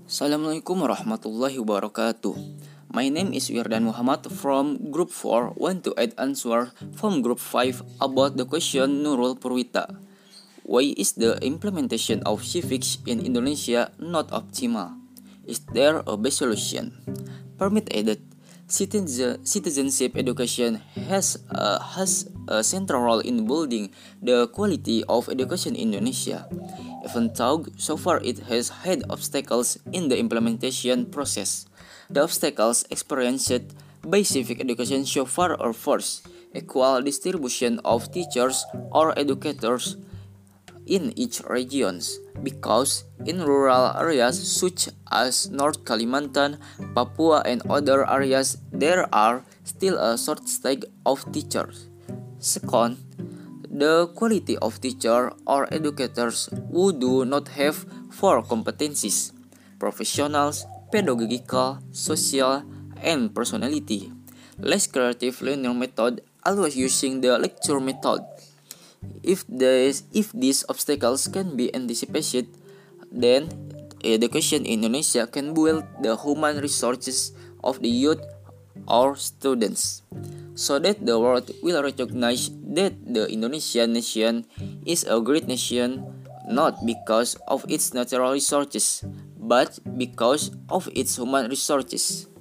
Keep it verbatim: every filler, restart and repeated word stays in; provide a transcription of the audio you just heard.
Assalamualaikum warahmatullahi wabarakatuh. My name is Wirdan Muhammad from Group four. Want to add answer from Group five about the question Nurul Purwita. Why is the implementation of civics in Indonesia not optimal? Is there a best solution? Permit added, citizen, citizenship education has a, has a central role in building the quality of education in Indonesia. Even though so far it has had obstacles in the implementation process. The obstacles experienced by civic education so far are first, equal distribution of teachers or educators in each regions, because in rural areas such as North Kalimantan, Papua and other areas there are still a shortage of teachers. Second, the quality of teacher or educators who do not have four competencies: professionals, pedagogical, social, and personality. Less creative learning method, always using the lecture method. If this, if these obstacles can be anticipated, then education in Indonesia can build the human resources of the youth or students, so that the world will recognize that the Indonesian nation is a great nation not because of its natural resources, but because of its human resources.